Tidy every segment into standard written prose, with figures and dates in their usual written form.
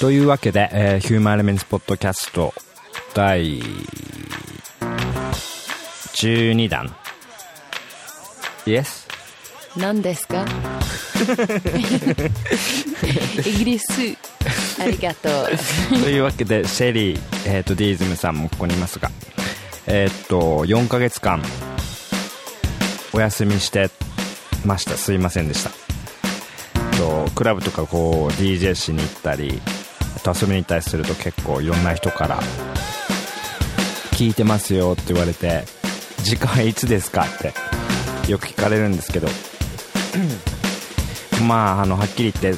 というわけで、ヒューマンエレメンツポッドキャスト第12弾 Yes? 何ですかイギリスありがとうというわけでシェリー、ディーズムさんもここにいますが、4ヶ月間お休みしてました。すいませんでした。クラブとかこう DJ しに行ったり、あと遊びに行ったりすると結構いろんな人から聞いてますよって言われて、時間いつですかってよく聞かれるんですけどまあはっきり言って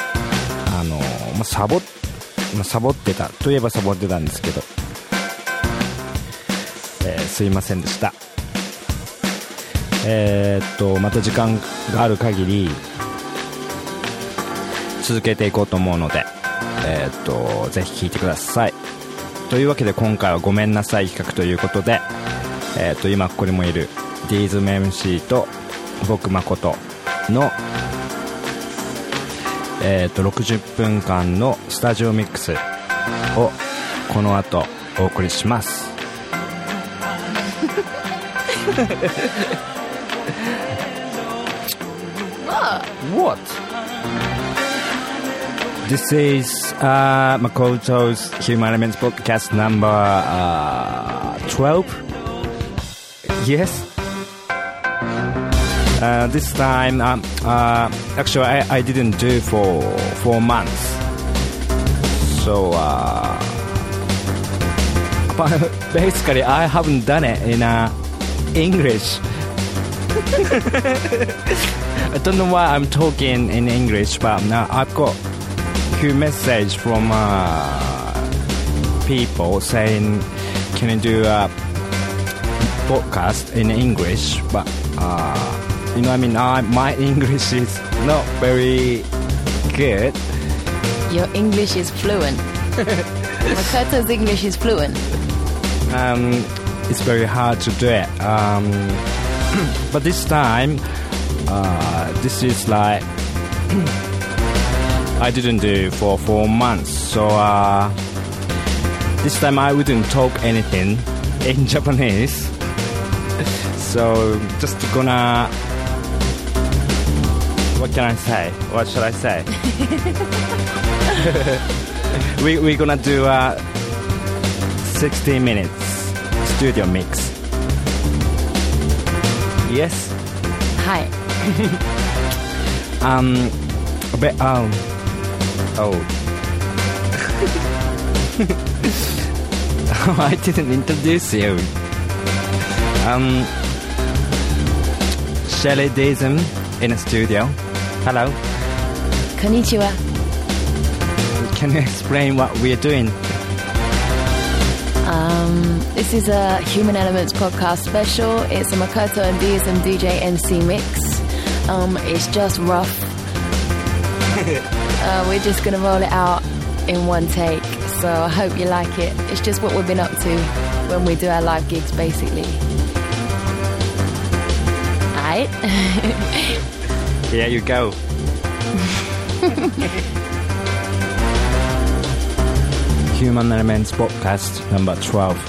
サボってたといえばサボってたんですけど、すいませんでした。また時間がある限り続けていこうと思うので、ぜひ聞いてください。というわけで今回はごめんなさい企画ということで、今ここにもいるディーズム MC と僕誠の、60分間のスタジオミックスをこの後お送りします。What? This is Makoto's Human Elements podcast number 12. Yes. This time, actually, I didn't do for 4 months. So, but basically, I haven't done it in English. I don't know why I'm talking in English, but I've got a few messages from people saying, "Can you do a podcast in English?" But my English is not very good. Your English is fluent. Makoto's English is fluent. It's very hard to do it. But this time, this is like I didn't do for 4 months. So this time I wouldn't talk anything in Japanese. So just gonna, what can I say? What should I say? We're gonna do a 60 minutes studio mix. Yes. Hi. I didn't introduce you. Shelly Daism in a studio. Hello. Konnichiwa. Can you explain what we are doing? This is a Human Elements podcast special. It's a Makoto and DSM DJ MC mix. It's just rough. We're just going to roll it out in one take. So I hope you like it. It's just what we've been up to when we do our live gigs, basically. Alright? Here you go. Human Elements podcast number 12.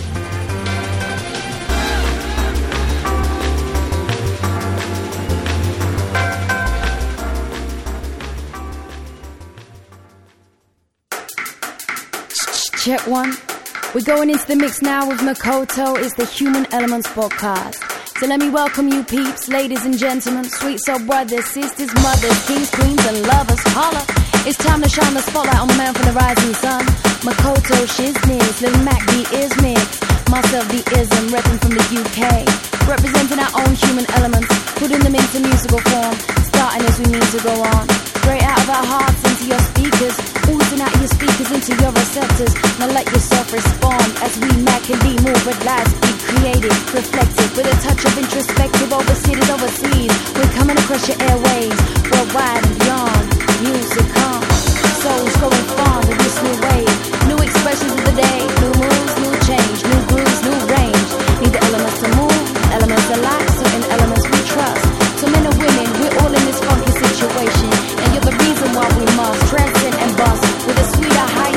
Check one. We're going into the mix now with Makoto. It's the Human Elements podcast. So let me welcome you peeps, ladies and gentlemen, sweet soul brothers, sisters, mothers, kings, queens and lovers. Holla! It's time to shine the spotlight on the man from the rising sun. Makoto Shiznix, Lil Mac the Ismix, myself the Ism, repping from the UK, representing our own human elements, putting them into musical form, starting as we mean to go on. Straight out of our hearts into your speakers, oozing out your speakers into your receptors. Now let yourself respond as we Mac can be more but lives be creative, reflective, with a touch of introspective, overseated overseas. We're coming across your airwaves, worldwide and beyond. Music comes, souls going far to this new wave. New expressions of the day, new moves, new change, new grooves, new range. Need the elements to move, elements to life, certain elements we trust. So men and women, we're all in this funky situation, and you're the reason why we must transcend and bust with a sweeter high.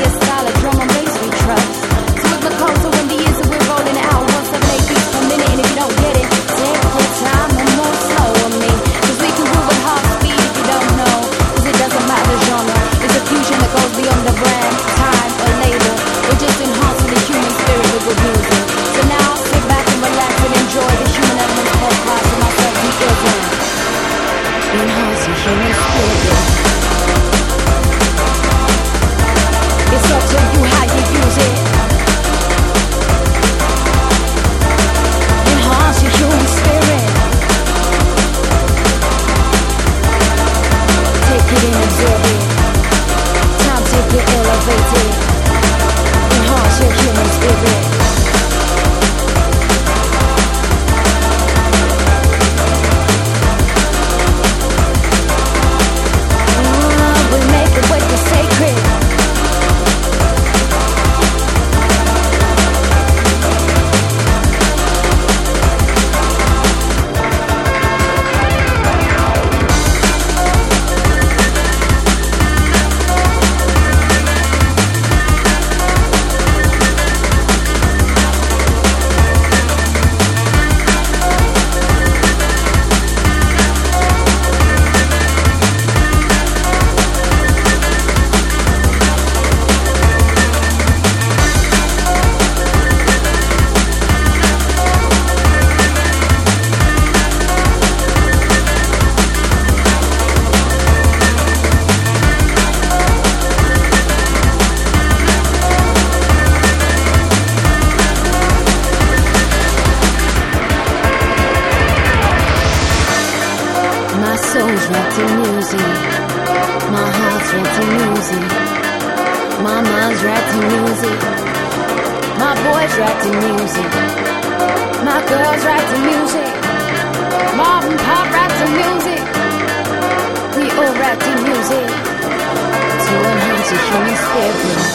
right to music. My heart's right to music. My mind's right to music. My boy's right to music. My girl's right to music. Mom and pop right to music. We all right to music to enhance the human spirit.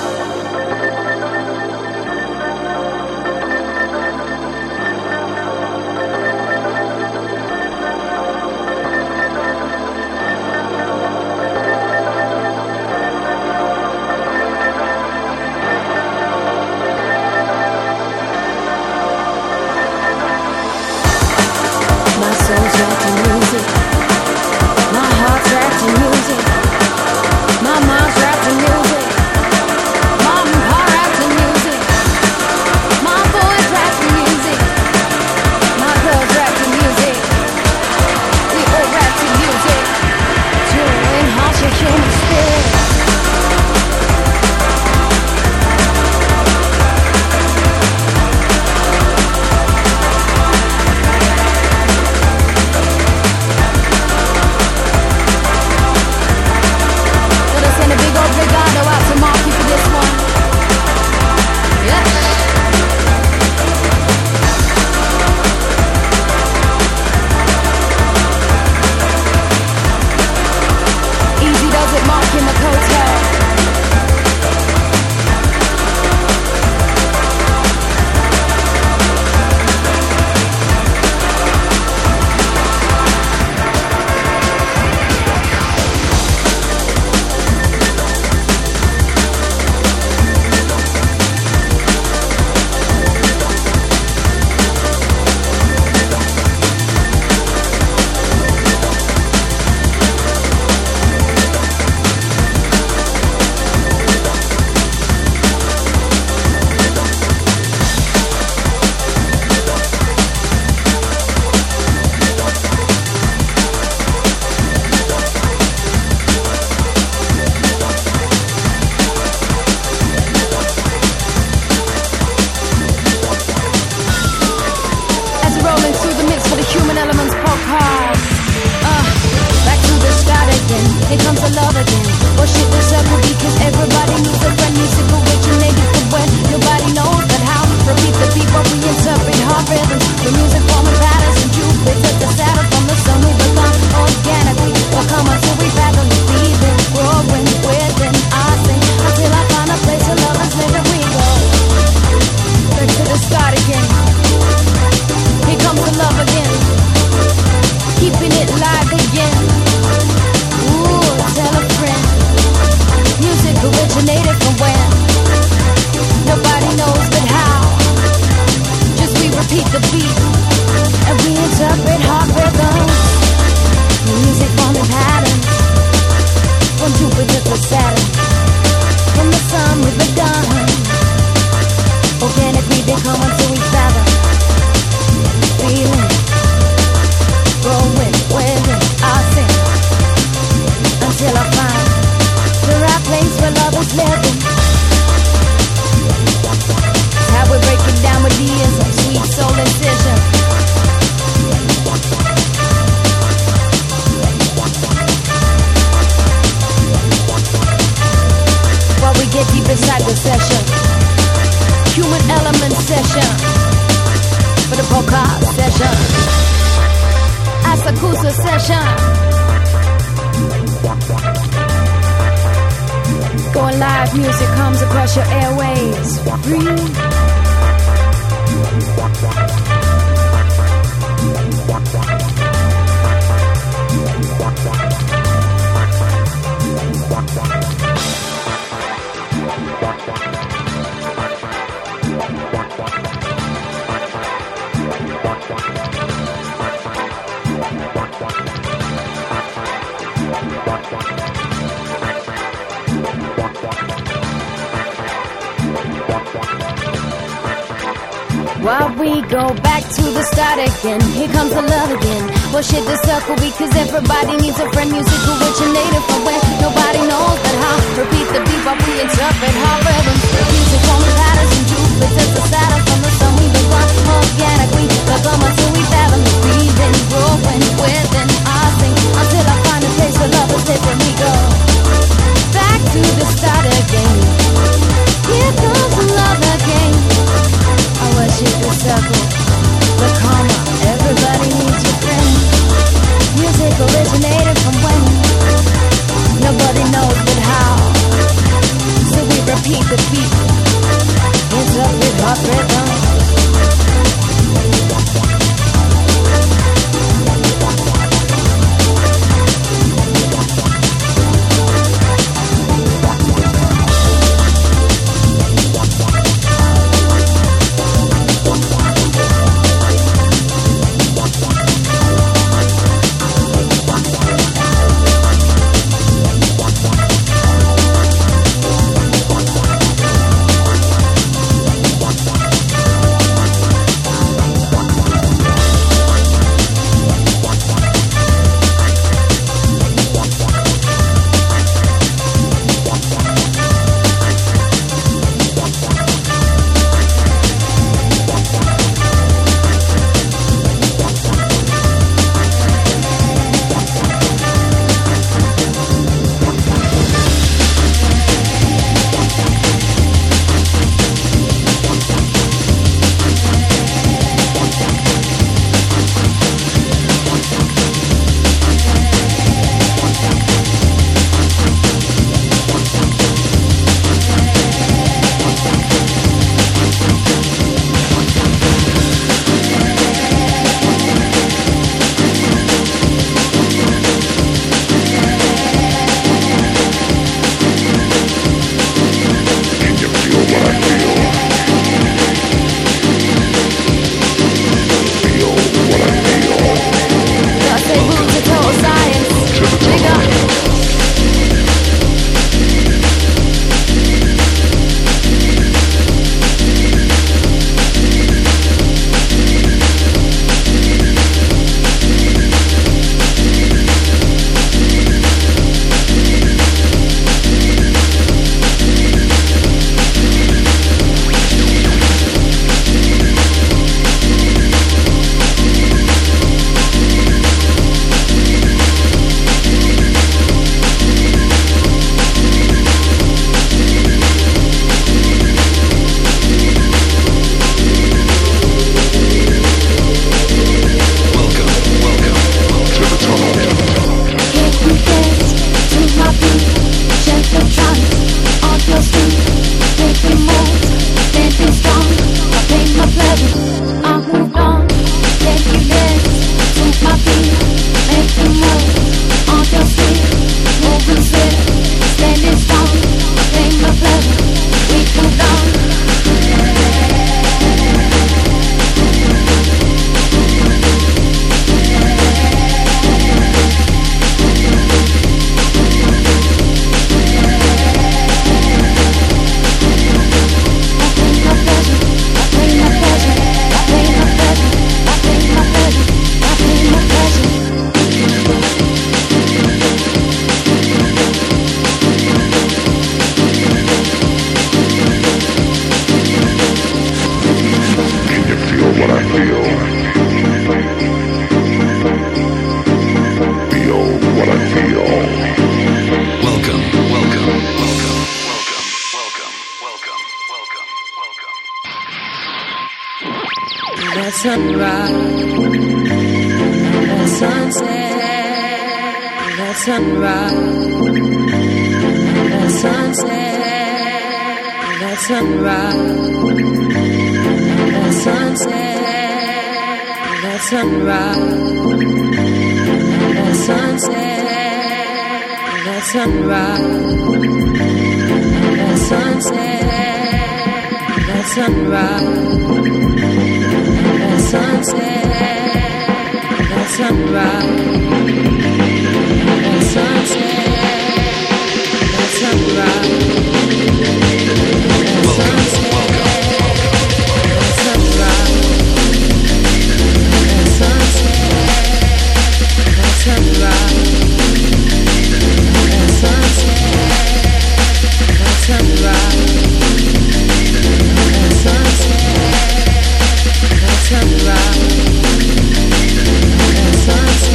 While we go back to the start again, here comes the love again. Bullshit the circle because everybody needs a friend. Music originated from where nobody knows but how. Repeat the beat while we interpret our rhythms. Music from the patterns and Jupiter's the Saturn. From the sun we become organically. Become until we fathom the breathing, growing within our sing until I circle, the karma, everybody needs a friend. Music originated from when? Nobody knows but how. So we repeat the beat. It's up with hot rhythm. Sunrise, that sunset, that sunrise, that sunset, that sunrise, that sunset, that sunrise, that sunset, that sunrise, that sunset, that sunrise. Sunset, that sunrise, that sunset, that sunrise, that sunset, that sunrise, that sunset, that sunrise, that sunset, that sunrise, that sunset. Sunrise, sunset.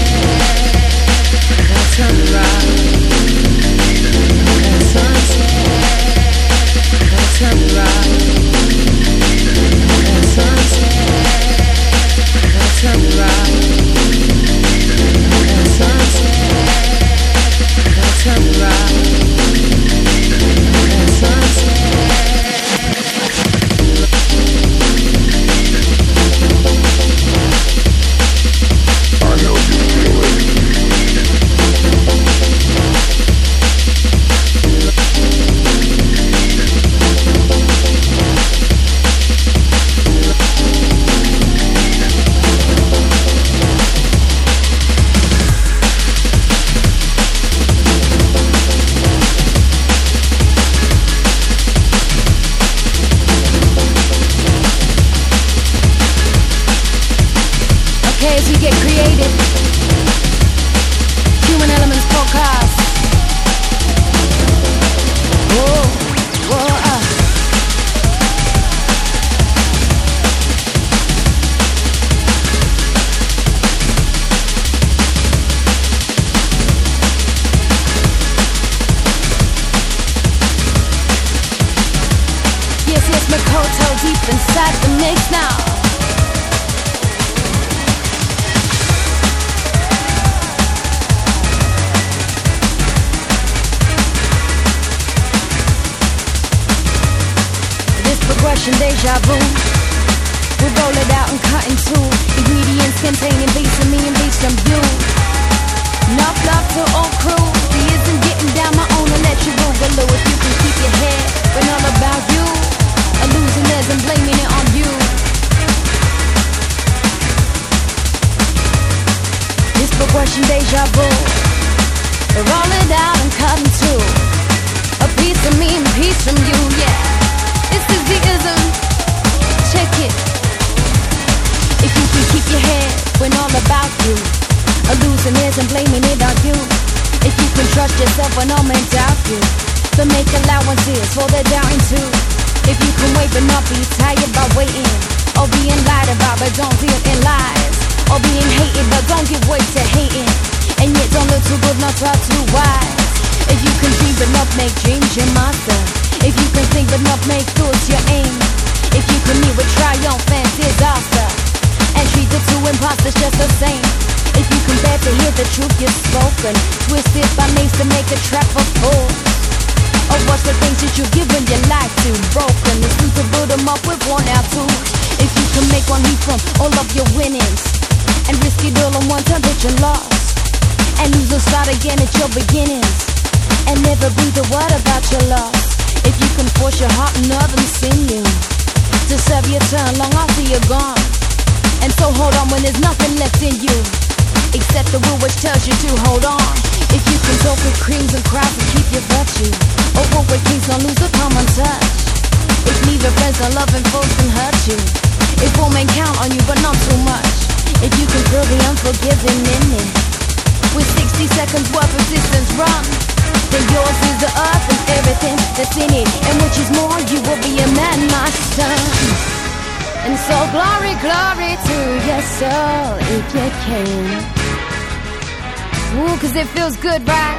we get creative. Human Elements Podcast. Whoa, whoa, Yes, it's Makoto deep inside the mix now. Progression deja vu. We roll it out and cut in two. Ingredients containing piece of me and piece of you. Enough love to all crew. He isn't getting down my own and let you boogaloo. If you can keep your head when all about you, a losing theirs and blaming it on you. This progression deja vu. We roll it out and cut in two. A piece of me and piece from you, yeah. This is the ism. Check it. If you can keep your head when all about you, a losing is and blaming it on you. If you can trust yourself when all men doubt you, then make allowances for their doubting too. If you can wait but not be tired by waiting, or being lied about but don't deal in lies, or being hated but don't give way to hating, and yet don't look too good, not talk too wise. If you can dream but not make dreams your master, if you can think but not make thoughts your aim, if you can meet with triumph and disaster, and treat the two imposters just the same, if you can bear to hear the truth you've spoken, twisted by means to make a trap of fools, or watch the things that you've given your life to broken, it's time to build them up with worn out tools. If you can make one leap from all of your winnings, and risk it all on one time that you're lost, and lose or start again at your beginnings, and never breathe a word about your loss. If you can force your heart and others sinew to serve your turn long after you're gone, and so hold on when there's nothing left in you except the will which tells you to hold on. If you can talk with creams and crowds and keep your virtue, or walk with kings, don't lose the common touch. If neither friends nor loving folks can hurt you, if all men count on you but not too much, if you can feel the unforgiving in it, with 60 seconds worth of distance run, then yours is the earth and everything that's in it, and which is more, you will be a man, my son. And so glory, glory to your soul if you can. Ooh, 'cause it feels good, right?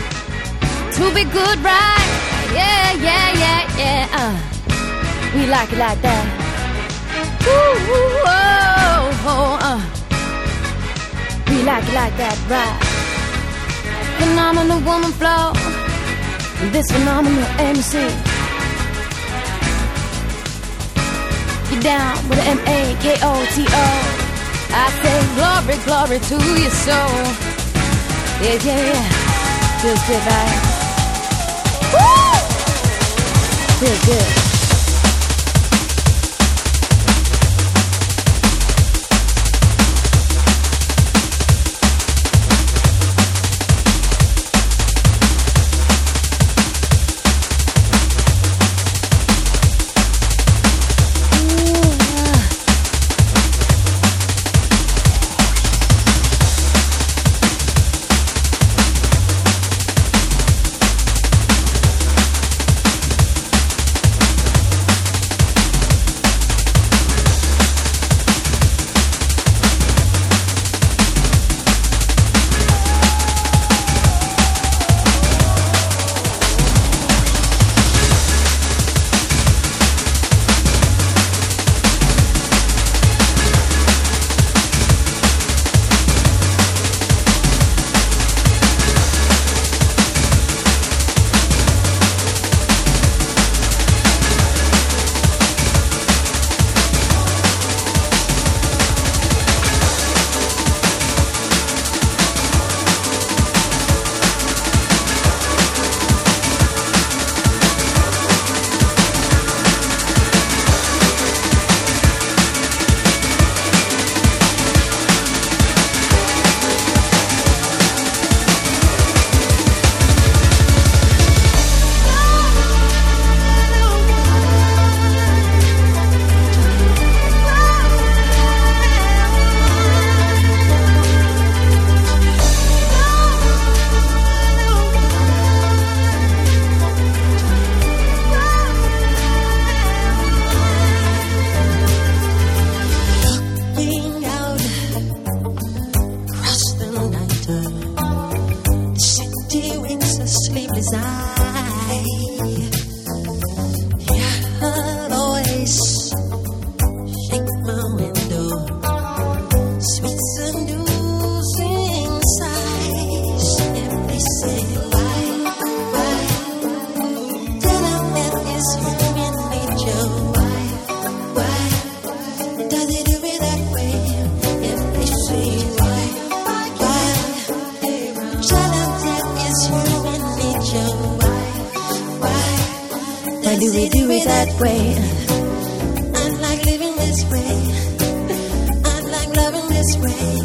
To be good, right? Yeah, yeah, yeah, yeah. We like it like that. Ooh, oh, oh, we like it like that, right? Phenomenal woman flow, this phenomenal MC. You're down with an M-A-K-O-T-O. I say glory, glory to your soul. Yeah, yeah, yeah. Feels good, right? Woo! Feels good. that way. I'd like living this way. I'd like loving this way.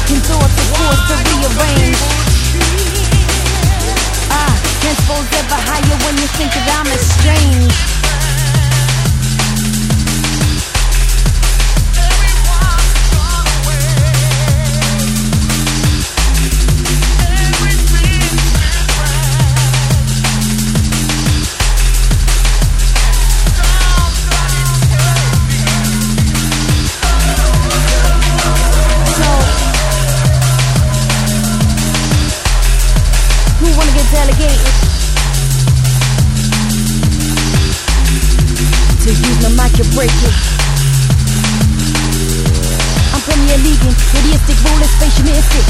Second thoughts are forced to rearrange. Can't suppose ever higher when you think that I'm estranged. Delegated to use my mic to break it. I'm Premier League, idiotic, rulers, facialistic.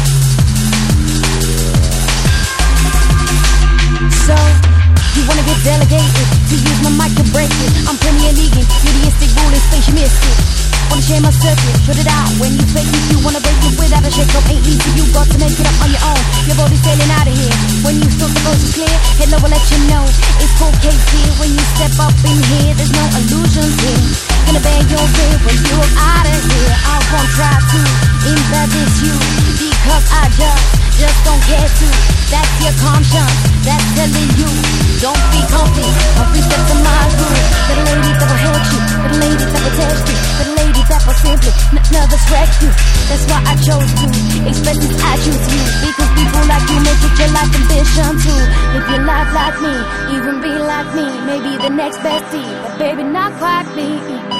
So you wanna get delegated to use my mic to break it. I'm Premier League, idiotic, rulers, facialistic. Wanna share my circuit, shut it out when you fake it. You wanna break it without a shake up, ain't easy. You got to make it up on your own. Your body's sailing out of here. When you thought the coast was clear, hello, I'll let you know it's cold case here. When you step up in here, there's no illusions here. Gonna bear your way when you're out of here. I won't try to embarrass you because I just don't care to. That's your conscience, that's telling you. Don't be comfy, comfy step to my groove. For the lady that will hurt you, for the lady that will test you, for the lady that will simply nervous wreck you. That's why I chose to express this I choose you. Because people like you make it your life ambition too. Live your life like me, even be like me. Maybe the next bestie, but baby not quite me.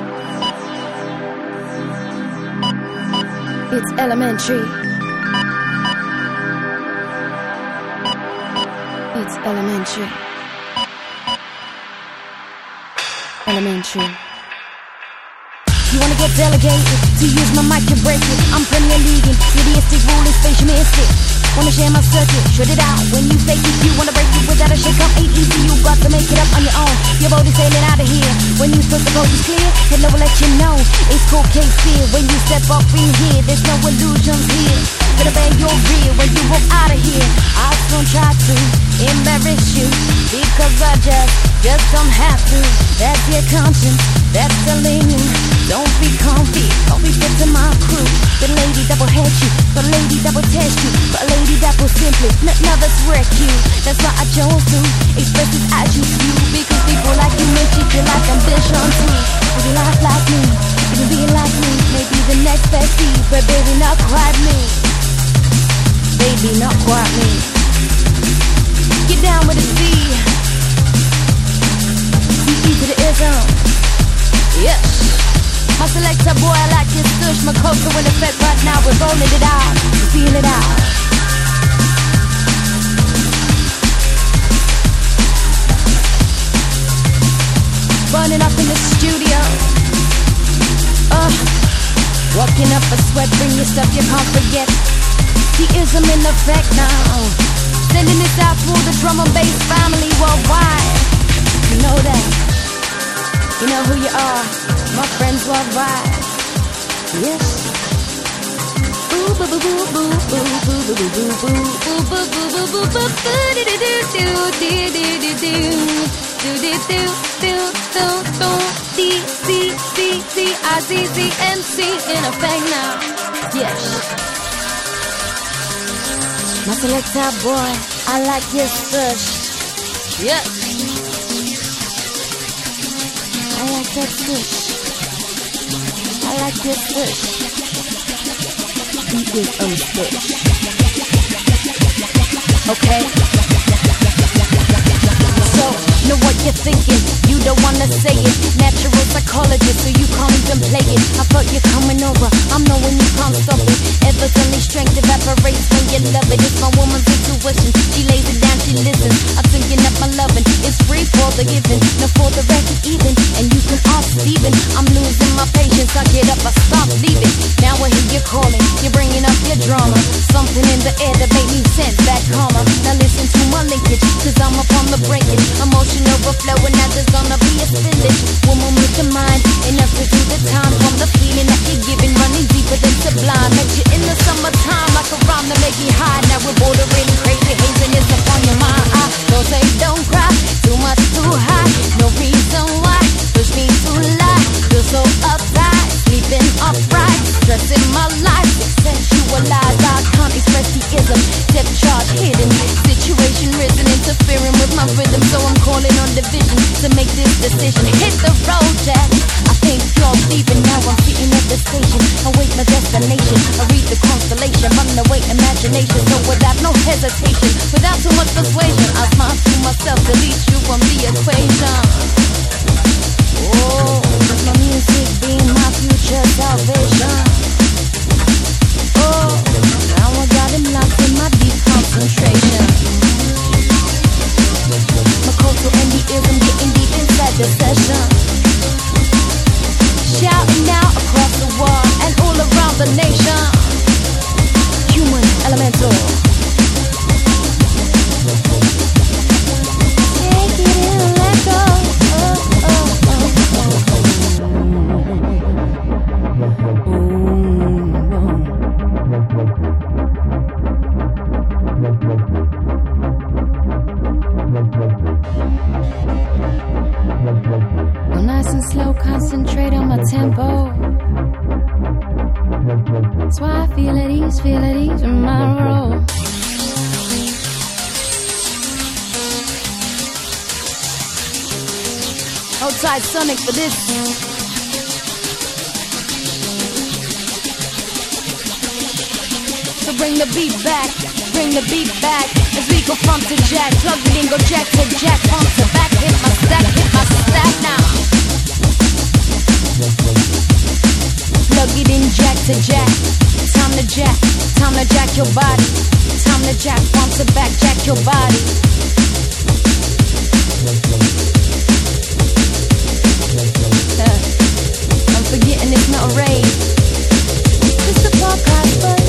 It's elementary. It's elementary. Elementary. You wanna get delegated to use my mic to break it. I'm Premier League, idiotic, rulers, facialistic. Wanna share my circuit, shut it out when you fake it. You wanna break it without a shake up, ain't easy. You got to make it up on your own. Your body's sailing out of here. When you thought the coast was clear, hello, I'll let you know it's cold case here. When you step up in here, there's no illusions here. Gonna bear your rear when you walk out of here. I don't try to embarrass you because I just don't have to. That's your conscience, that's telling you. Don't be comfy, don't be fit to my crew. The lady that will hurt you, the lady that will test you, the lady that will simply nervous wreck you. That's why I chose to express this I choose you. Because people like you make it your life ambition too. Would you laugh like me, would you be like me? Maybe the next bestie, but baby not quite me. Baby not quite me. Get down with a C. C to the ism. Yes. My selector boy, I like his stush. My coca in effect right now. We're rolling it out, feel it out. Burning up in the studio. Walking up a sweat, bring your stuff you can't forget. The ism in effect now. Sending this out for the drum and bass family worldwide. You know that. You know who you are. My friends worldwide. Yes. Ooh boo boo boo boo boo boo boo boo boo boo boo boo boo boo boo do do do do do do do do do do do do do D C C C I Z Z M C in effect now. Yes. My selector boy, I like your stush. Yes. I like that stush. I like your stush. He is unstush. Okay? So, know what you're thinking. You don't wanna say it. Natural psychologist, so you can't even play it. I thought you're coming over. I'm knowing you can't stop it. Evidently strength evaporates when you love it. It's my woman's intuition. She lays it down, she listens. I'm thinking of my loving. It's free for the giving, no for the record even. And you can ask Steven. I'm losing my patience. I get up, I stop leaving. Now I hear you calling. You're bringing up your drama. Something in the air that made me sense back calmer. Now listen to my linkage, cause I'm up on the breakage. Emotion overflowing, now there's gonna be a spillage. Woman with your mind, enough to do the time. From the feeling that you're giving, running deeper than sublime. Met you in the summertime, like a rhyme to make me high. Now we're bordering crazy, hazing is upon your mind. Don't say don't cry, too much too high. No reason why hit the road, Jack. I think you're leaving now. I'm sitting at the station, await my destination. I read the constellation, run away imagination. So without no hesitation, without too much persuasion, I smile to myself, delete you from the equation. Oh, with my music being my future salvation. Oh, now I got him locked in my deep concentration. Makoto and the ears, I'm getting deep inside the session. Shouting out across the world and all around the nation. Human elemental. Take it in and let go. Go nice and slow, concentrate on my tempo. That's why I feel at ease in my role. Outside Sonic for this. So bring the beat back as we go front to jack. Plug it in, go jack to jack, front to back. Hit my stack now. Plug it in, jack to jack. Time to jack your body. Time to jack front to back, jack your body. I'm forgetting it's not a rave. It's a podcast, but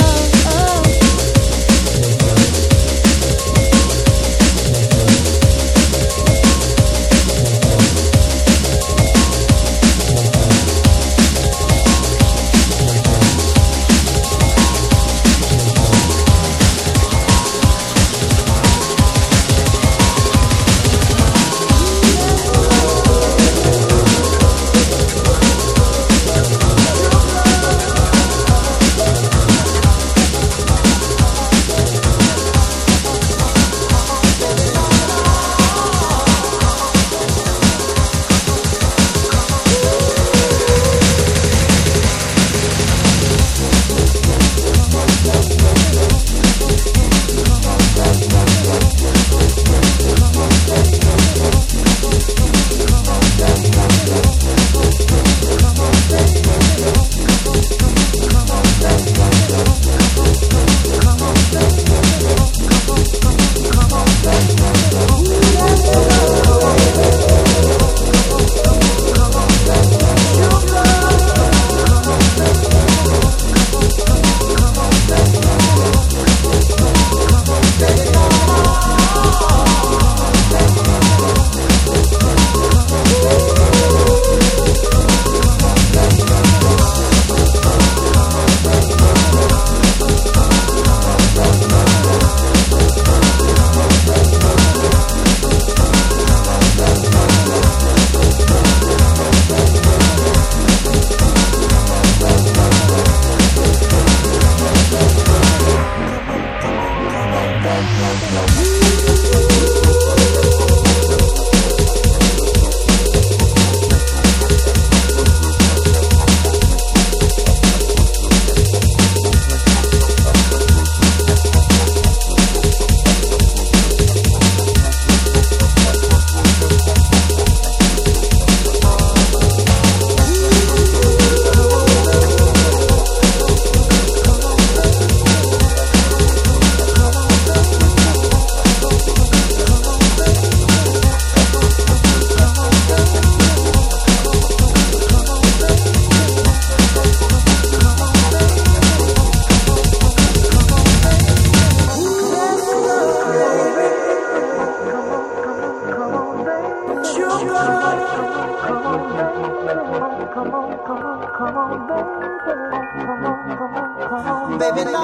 Baby, no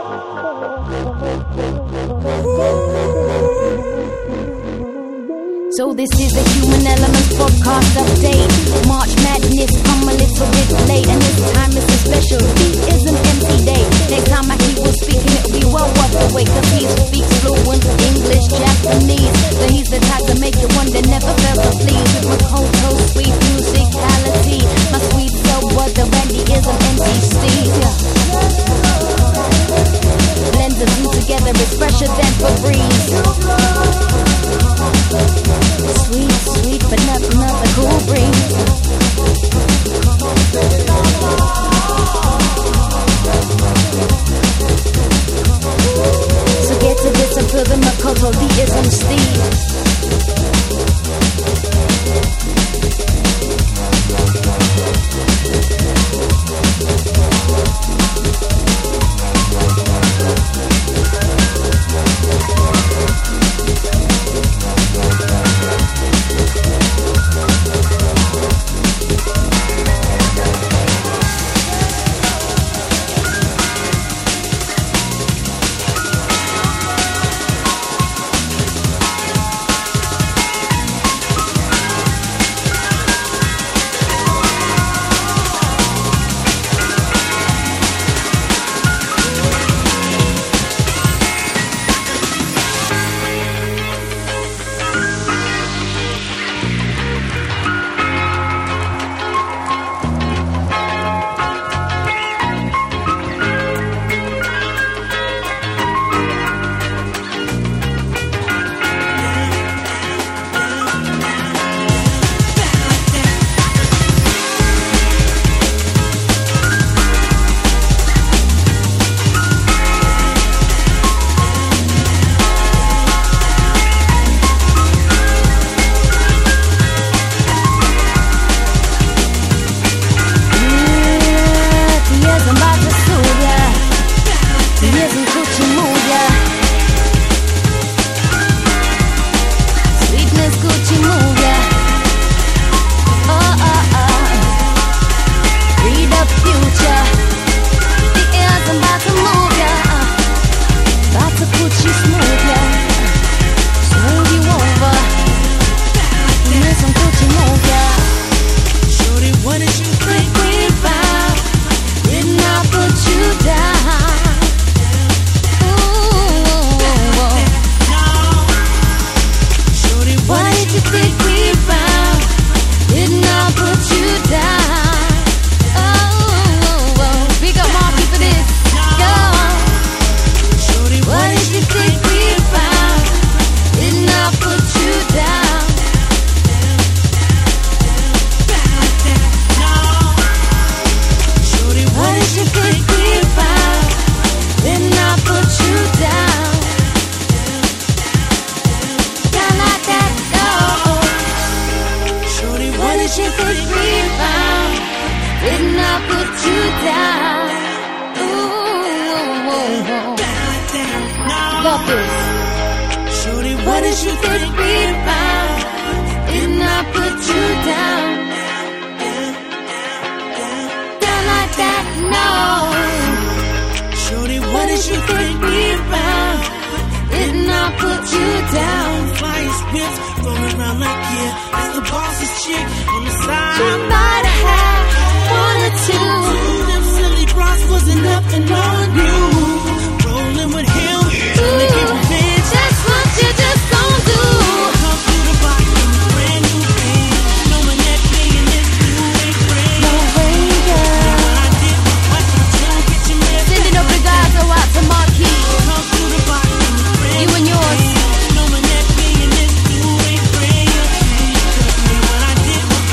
more. So this is the Human Elements podcast update. March Madness come a little bit late, and this time it's a special Deism MC day. Next time I hear will speaking, it'll be well worth the wait, cause he speaks fluent English, Japanese. So he's the type to make you wonder, never felt so pleased with Makoto sweet musicality. My sweet soul brother Randyism MC Steve. Blends the two together, it's fresher than Febreze. Sweet, sweet, but nothing of the cool breeze. So get to this and feel the Makoto Deism Steve.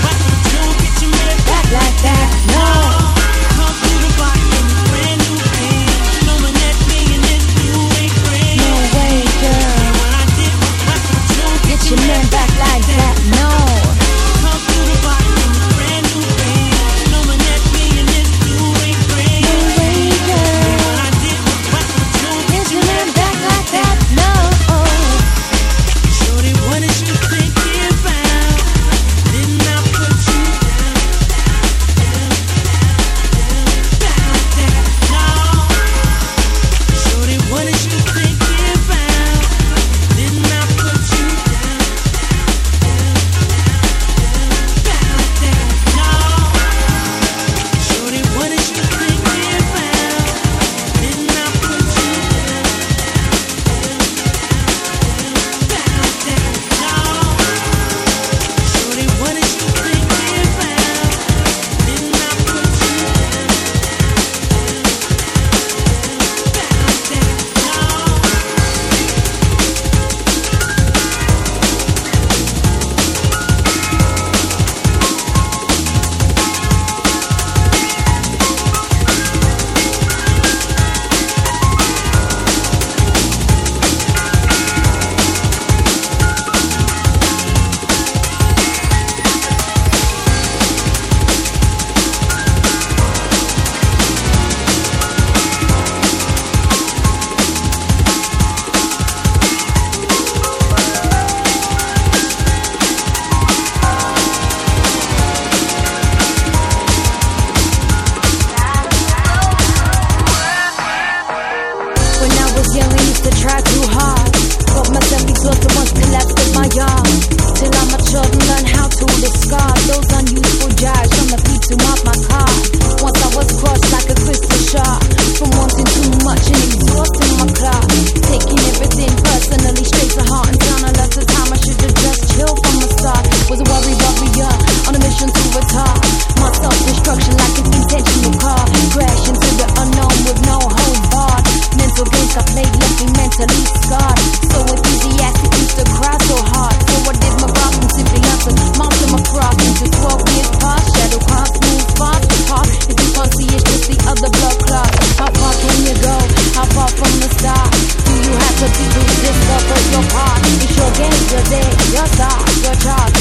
Like that, no.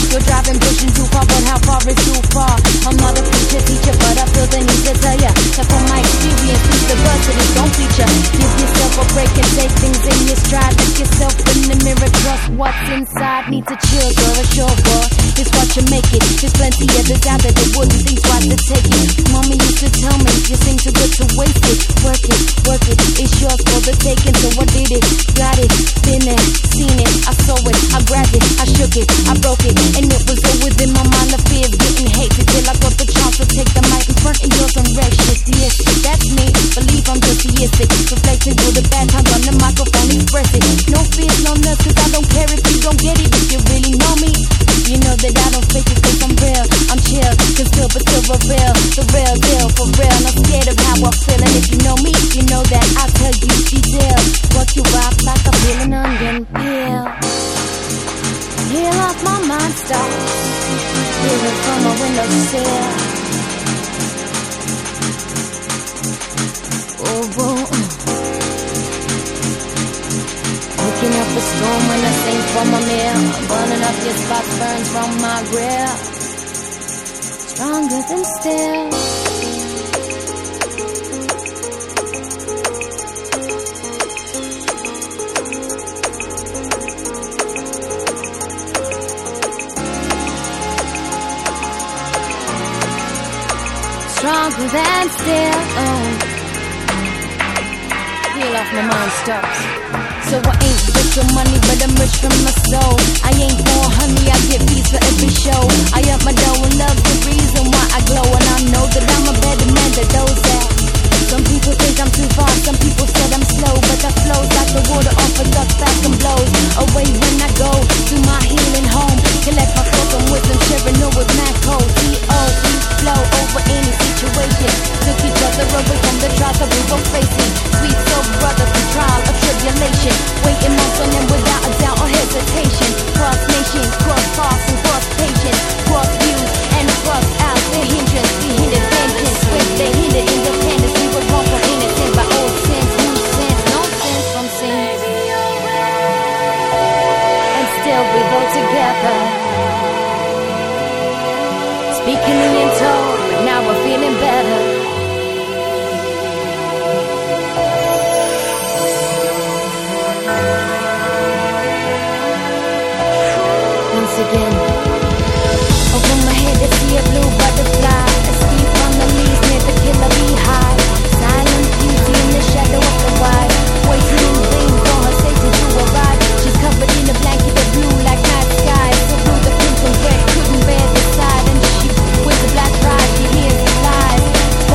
You're driving, pushing too far, but how far is too far? I'm not a preacher, teacher, but I feel the need to tell ya that from my experience, use the words to this don't feature. Give yourself a break and take things in your stride. Look yourself in the mirror, trust what's inside. Need to chill, girl, a sure boy. It's what you make it. There's plenty others out there that wouldn't think twice to take it. Mommy used to tell me, you sing too good to waste it. Work it, work it, it's yours for the taking. So I did it, got it, been there, seen it. I saw it, I grabbed it, I shook it, I broke it, and it was all within my mind. The fears getting hated till I got the chance to take the mic in front of yours and wreck shit. Yes, that's me. Believe I'm just theistic, reflecting through the bad times on the microphone, express it. No fears, no nuts, 'cause I don't care if you don't get it. If you really know me, you know that I don't fake it, 'cause I'm real, I'm chill, can still but still reveal the real deal, for real. Not scared of how I feel, and if you know me, you know that I'll tell you details. Work you out like a peeling onion peel. Peel off my mind, stop. Hear it from my windowsill. Oh, oh. Looking up the storm when I sing from my mirror. Burning up your spots, burns from my grill. Stronger than steel. Stronger than steel. Oh. Peel off my mind stops. So I ain't rich from money, but I'm rich from my soul. I ain't for honey, I get fees for every show. I up my dough and love the reason why I glow. And I know that I'm a better man than those that. Some people think I'm too fast, some people said I'm slow. But I flow like the water off a duck fast and blows away when I go to my healing home. Collect my thoughts on wisdom, sharing no with mad code. D-O-E, flow over any situation. Took each other away from the trials that we were facing. Sweet soul brother through trial or tribulation. Waiting months on them without a doubt or hesitation. Cross nations, cross paths and cross patience. Cross views and cross out the hindrance. We hindered vengeance with the hindered independence. We were wrong from innocent by old sins, new sins, no sense from sin. And still we go together. Speaking in told, but now we're feeling better. Once again, over my head I see a blue butterfly, asleep on the leaves near the killer beehive. Silent beauty in the shadow of the wild, waiting in vain for her Satan to arrive. She's covered in a blanket of blue like night sky, so blue the pink and red couldn't bear the sight. And she wears a black pride, she hears the lies.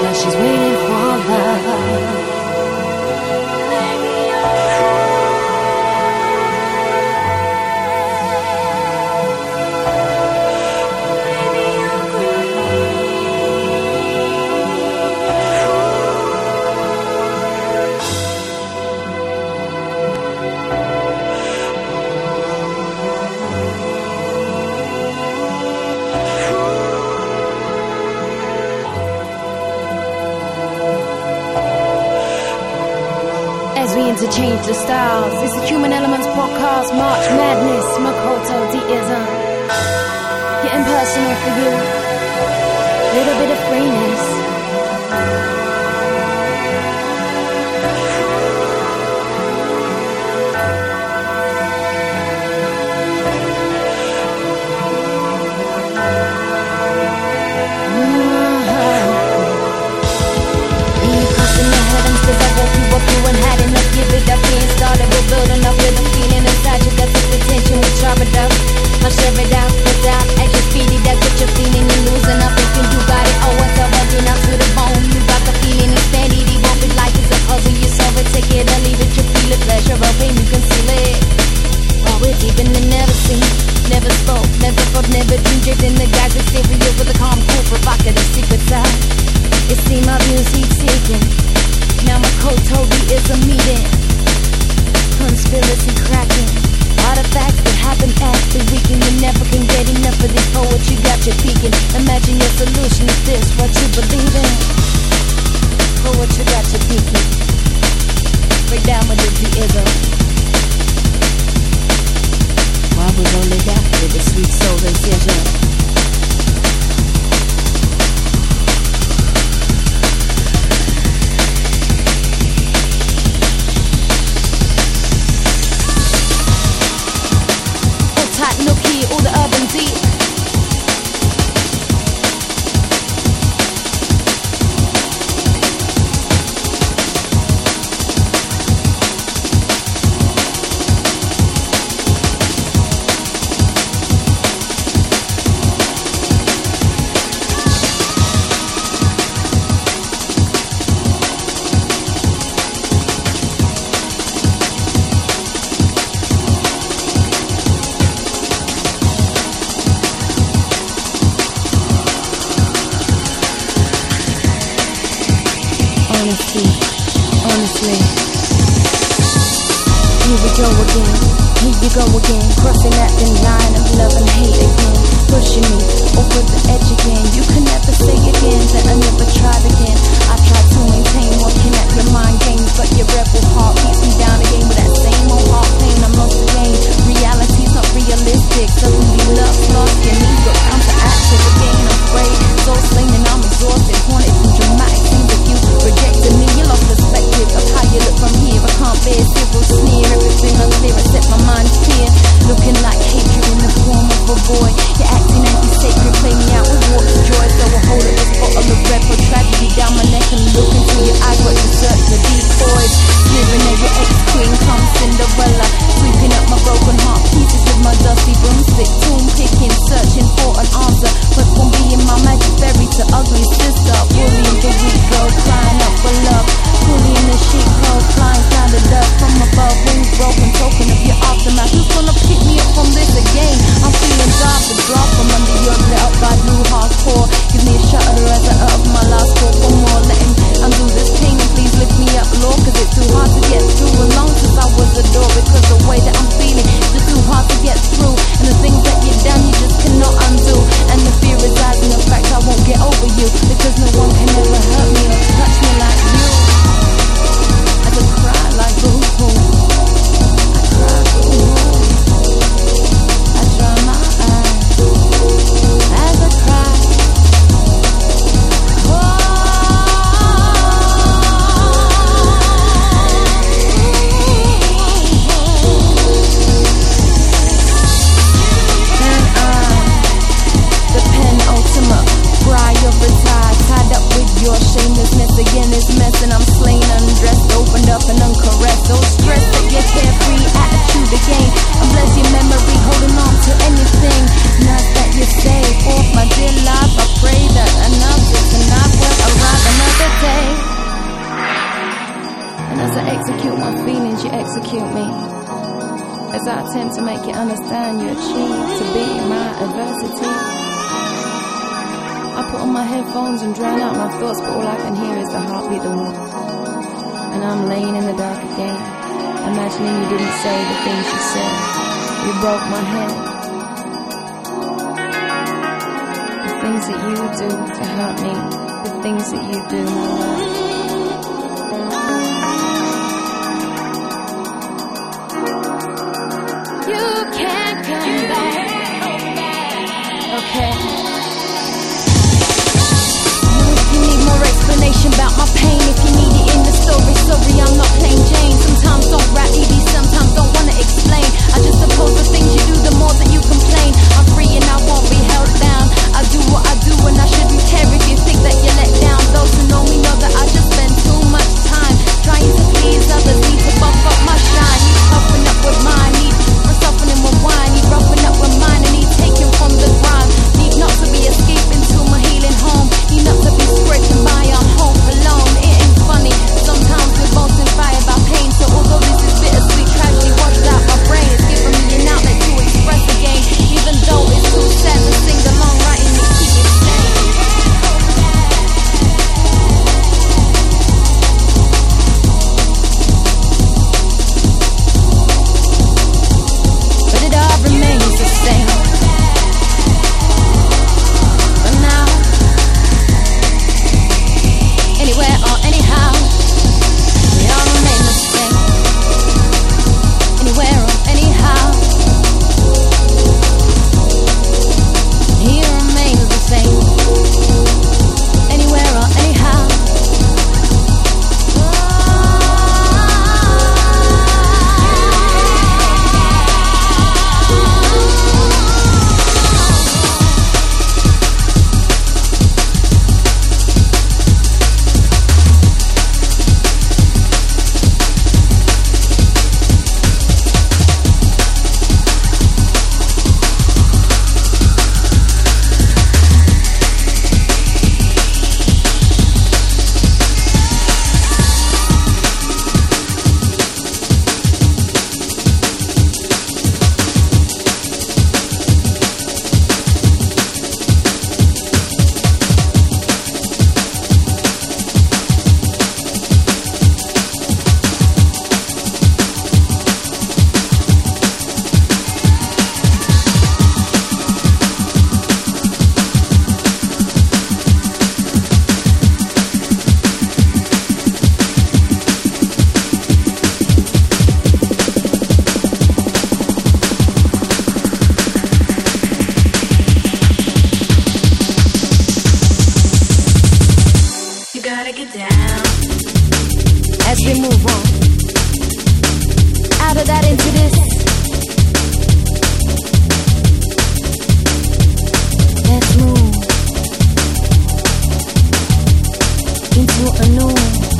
Now she's waiting for love. As we interchange the styles, it's the Human Elements Podcast, March Madness, Makoto Deism. Getting personal for you, little bit of freeness. Cause I woke you up, you and had enough. Give it up, being started, we're building up with a feeling inside you. Got some attention, we chop it up. I'll share it out, put out at your feet. That's what you're feeling, you're losing up. Thinking you got it, oh, it's all working up to the bone. You got the feeling, it's steady. It won't be like it's a puzzle. You solve it, take it or leave it. You feel it, pleasure or pain, you conceal it. While we're deep in the never seen, never spoke, never felt, never dreamed. Drifting the guys exterior with a calm, cool, provocative secret side. It seemed my views heat seeking. Now Makoto is a meeting. Conspiracy cracking. Artifacts that happen at the weekend. You never can get enough of this poetry. Got you peeking. Imagine your solution is this, what you believe in. Poetry got you peeking. Break down with the deism. While we roll it out with the sweet soul incision. Look here, all the urban deep. Honestly, here we go again, here you go again, crossing that thin line of love and hate again, pushing me over the edge again. You can never say again that I never tried again. I tried to maintain working at your mind games, but your rebel heart beats me down again with that same old heart pain. I'm lost again, reality's not realistic, suddenly love's lost, your knees got counteractive again. I'm afraid, so slain and I'm exhausted, haunted from dramatic scenes of you rejecting me. You lost perspective of how you look from here. I can't bear civil sneer, everything unclear except my mind's clear. Looking like hatred in the form of a boy. You're acting anti-sacred, play me out with water joy. So I hold up this bottle of red for tragedy down my execute me as I attempt to make you understand you achieve to be my adversity. I put on my headphones and drown out my thoughts, but all I can hear is the heartbeat of the wall. And I'm laying in the dark again, imagining you didn't say the things you said. You broke my head. The things that you do to hurt me, the things that you do, my love. You can't come back. Okay. If you need more explanation about my pain, if you need it in the story, sorry, I'm not plain Jane. Sometimes don't rap easy, sometimes don't wanna explain. I just suppose the things you do, the more that you complain. I'm free and I won't be held down. I do what I do and I shouldn't care if you think that you're let down. Those who know me know that I just spend too much time trying to please others, need to buff up my shine. Need puffing up with mine, need for softening with wine. Need roughing up with mine and need taking from the grind. Need not to be escaping to my healing home. Need not to be scraping by on hope alone. It ain't funny, sometimes we're both inspired by pain. So although this is bittersweet tragedy washed out my brain, it's giving me an outlet to express again. Even though it's too sad to sing along, writing to keep it sane. But it all remains the same. But now, anywhere or anyhow, we all remain the same. Anywhere or anyhow, he remains the same. Anywhere or anyhow. As we move on out of that into this, let's move into a new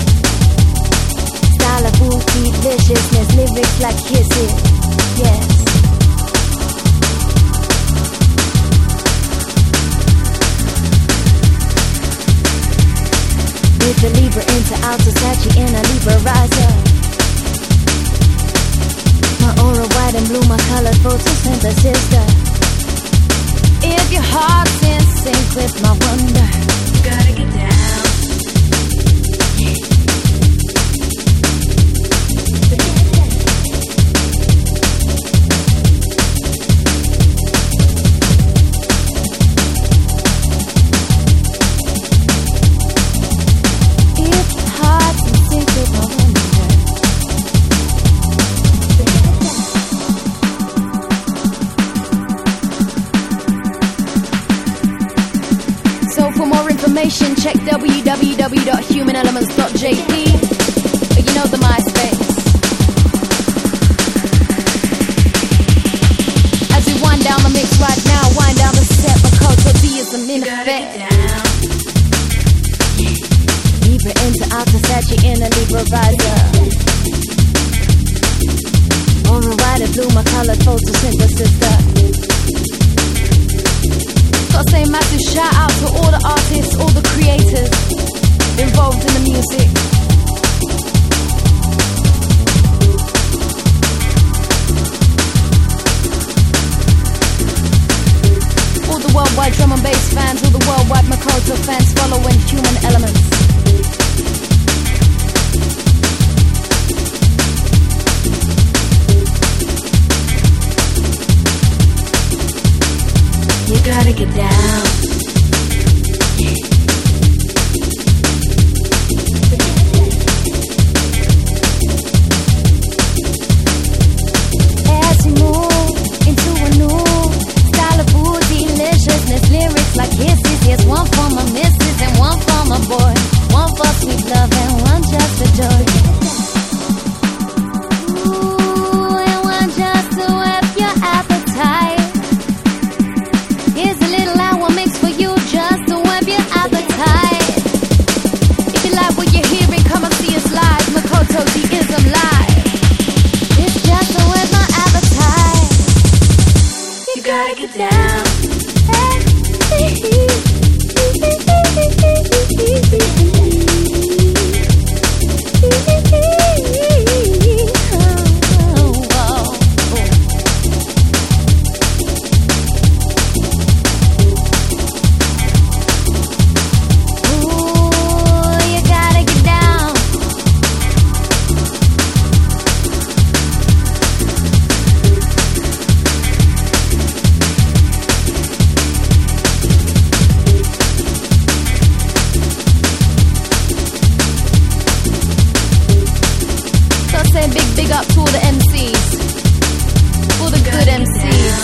style of booty deliciousness, lyrics like kisses, yes. With the Libra into Alto Sachi in a Libra riser. My aura white and blue, my color photosynthesis. If your heart's in sync with my wonder, you gotta get down. Check www.humanelements.jp. You know the MySpace. As we wind down the mix right now, wind down the set, Makoto D is in effect. Libra into Alta Sachi in a Libra riser. Aura white and blue, my color photosynthesis. Gotta say massive shout out to all the artists, all the creators involved in the music. fans, all the worldwide Makoto fans following Human Elements. You gotta get down. As we move into a new style of food, deliciousness, lyrics like kisses. Here's one for my missus and one for my boy, one for sweet love and one just for joy. Ooh, and one just to whet your appetite. Here's a little hour mix for you just to whet your appetite. If you like what you're hearing, come and see us live. Makoto Deism Live. It's just to whet my appetite. You gotta get down. Big up to all the MCs, all the good MCs.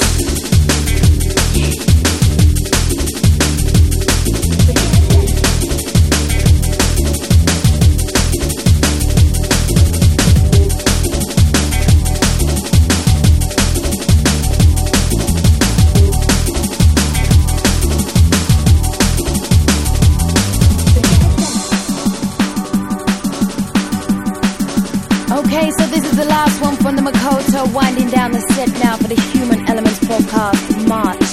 Okay, so this is the last one from the Makoto, winding down the set now for the Human Elements podcast, March.